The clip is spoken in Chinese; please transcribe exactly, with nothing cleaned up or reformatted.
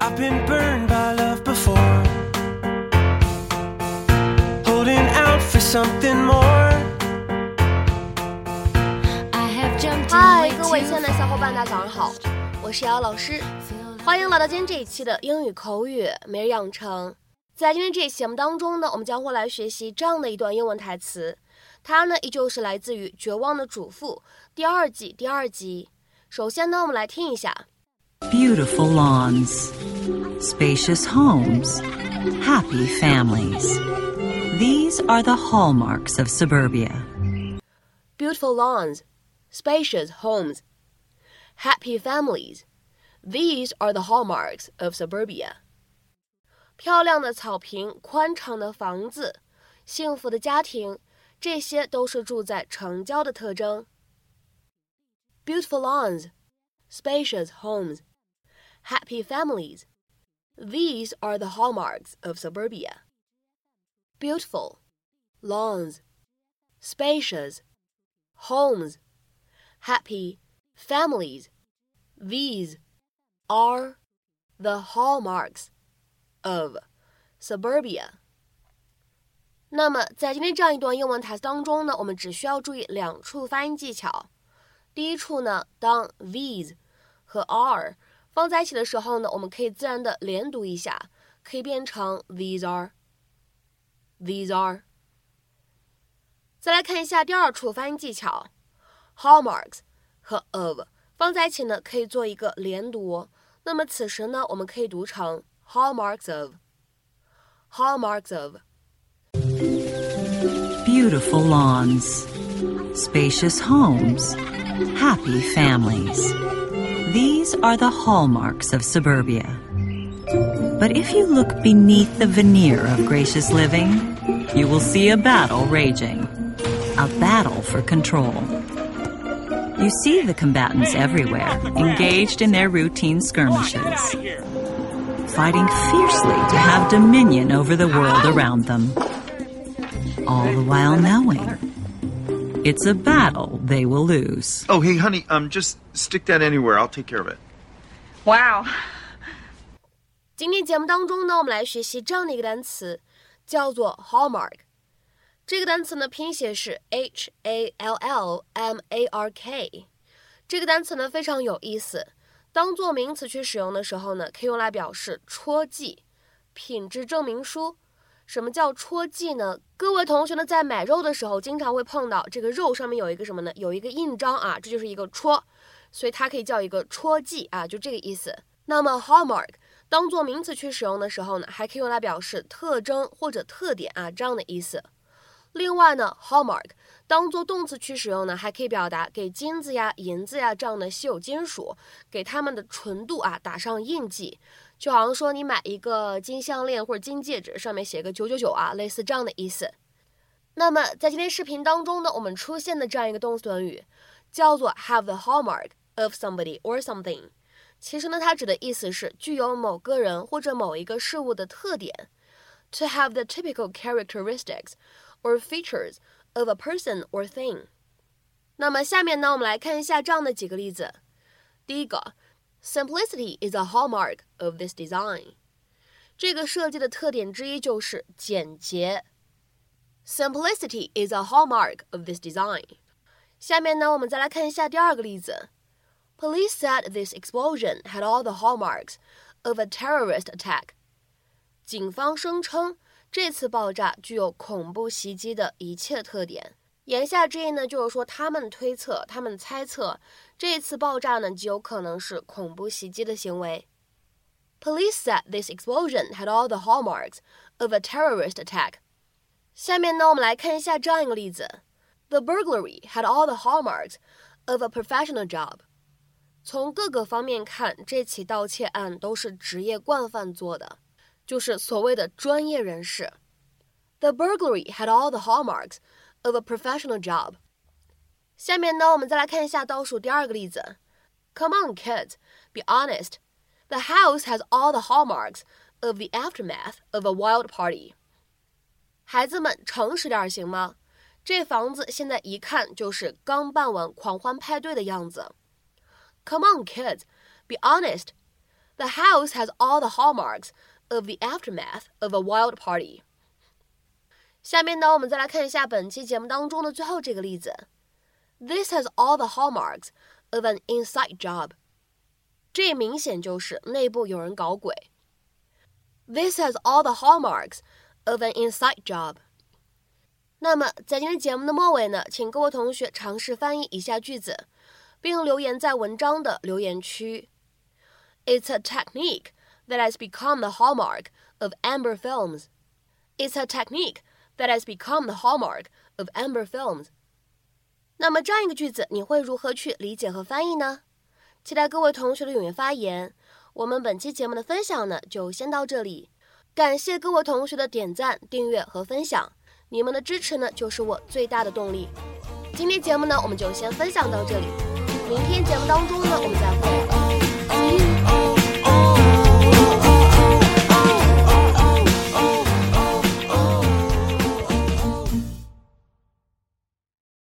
I've been burned by love before, holding out for something more. 嗨，各位亲爱的小伙伴，大家早上好，我是瑶老师，欢迎来到今天这一期的英语口语每日养成。在今天这一期节目当中呢，我们将会来学习这样的一段英文台词，它呢依旧是来自于《绝望的主妇》第二季第二集。首先呢，我们来听一下。 Beautiful lawns, spacious homes, happy families. These are the hallmarks of suburbia. Beautiful lawns, spacious homes, happy families. These are the hallmarks of suburbia. 漂亮的草坪，宽敞的房子，幸福的家庭，这些都是住在城郊的特征。Beautiful lawns, spacious homes, happy families. These are the hallmarks of suburbia. Beautiful lawns, spacious homes, happy families. These are the hallmarks of suburbia. 那么在今天这样一段英文台词当中呢，我们只需要注意两处发音技巧。第一处呢，当 these 和 are 放在一起的时候呢，我们可以自然的连读一下，可以变成 these are, these are。再来看一下第二处发音技巧 ，hallmarks 和 of 放在一起呢，可以做一个连读。那么此时呢，我们可以读成 hallmarks of, hallmarks of。 Beautiful lawns, spacious homes, happy families. These are the hallmarks of suburbia. But if you look beneath the veneer of gracious living, you will see a battle raging, a battle for control. You see the combatants everywhere, engaged in their routine skirmishes, fighting fiercely to have dominion over the world around them, all the while knowing it's a battle they will lose. Oh, hey, honey, um, just stick that anywhere. I'll take care of it. Wow. 今天节目当中呢，我们来学习这样的一个单词，叫做 hallmark。这个单词呢，拼写是 H A L L M A R K。这个单词呢非常有意思，当做名词去使用的时候呢，可以用来表示戳记、品质证明书。什么叫戳记呢？各位同学呢，在买肉的时候，经常会碰到这个肉上面有一个什么呢？有一个印章啊，这就是一个戳，所以它可以叫一个戳记啊，就这个意思。那么 hallmark 当做名词去使用的时候呢，还可以用来表示特征或者特点啊，这样的意思。另外呢 hallmark 当做动词去使用呢，还可以表达给金子呀、银子呀这样的稀有金属，给它们的纯度啊打上印记。就好像说你买一个金项链或者金戒指，上面写个九九九啊，类似这样的意思。那么在今天视频当中呢，我们出现的这样一个动词短语叫做 have the hallmark of somebody or something。其实呢，它指的意思是具有某个人或者某一个事物的特点。To have the typical characteristics or features of a person or thing。那么下面呢，我们来看一下这样的几个例子。第一个 ，Simplicity is a hallmark of this design。这个设计的特点之一就是简洁。Simplicity is a hallmark of this design。下面呢，我们再来看一下第二个例子。Police said this explosion had all the hallmarks of a terrorist attack。警方声称这次爆炸具有恐怖袭击的一切特点。言下之意呢，就是说他们推测，他们猜测这次爆炸呢极有可能是恐怖袭击的行为。Police said this explosion had all the hallmarks of a terrorist attack。下面呢，我们来看一下这样一个例子。The burglary had all the hallmarks of a professional job。从各个方面看，这起盗窃案都是职业惯犯做的，就是所谓的专业人士。The burglary had all the hallmarks of a professional job。下面呢，我们再来看一下倒数第二个例子。Come on, kids, be honest. The house has all the hallmarks of the aftermath of a wild party。孩子们，诚实点行吗？这房子现在一看就是刚办完狂欢派对的样子。Come on, kids, be honest. The house has all the hallmarks of the aftermath of a wild party. 下面呢，我们再来看一下本期节目当中的最后这个例子。This has all the hallmarks of an inside job. 这明显就是内部有人搞鬼。This has all the hallmarks of an inside job. 那么在今天节目的末尾呢，请各位同学尝试翻译以下句子，并留言在文章的留言区。It's a technique that has become the hallmark of Amber films. It's a technique that has become the hallmark of Amber films. 那么这样一个句子，你会如何去理解和翻译呢？期待各位同学的踊跃发言。我们本期节目的分享呢，就先到这里。感谢各位同学的点赞、订阅和分享，你们的支持呢，就是我最大的动力。今天节目呢，我们就先分享到这里。明天节目当中呢，我们再会。